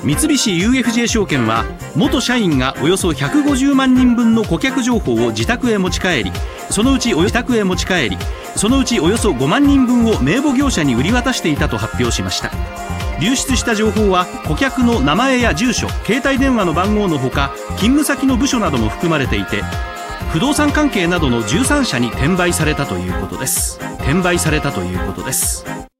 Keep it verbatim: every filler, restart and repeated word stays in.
三菱 ユーエフジェー 証券は元社員がおよそひゃくごじゅうまんにんぶんの顧客情報を自宅へ持ち帰り、そのうちおよそ自宅へ持ち帰りそのうちおよそごまんにんぶんを名簿業者に売り渡していたと発表しました。流出した情報は顧客の名前や住所、携帯電話の番号のほか、勤務先の部署なども含まれていて、不動産関係などのじゅうさんしゃに転売されたということです。転売されたということです。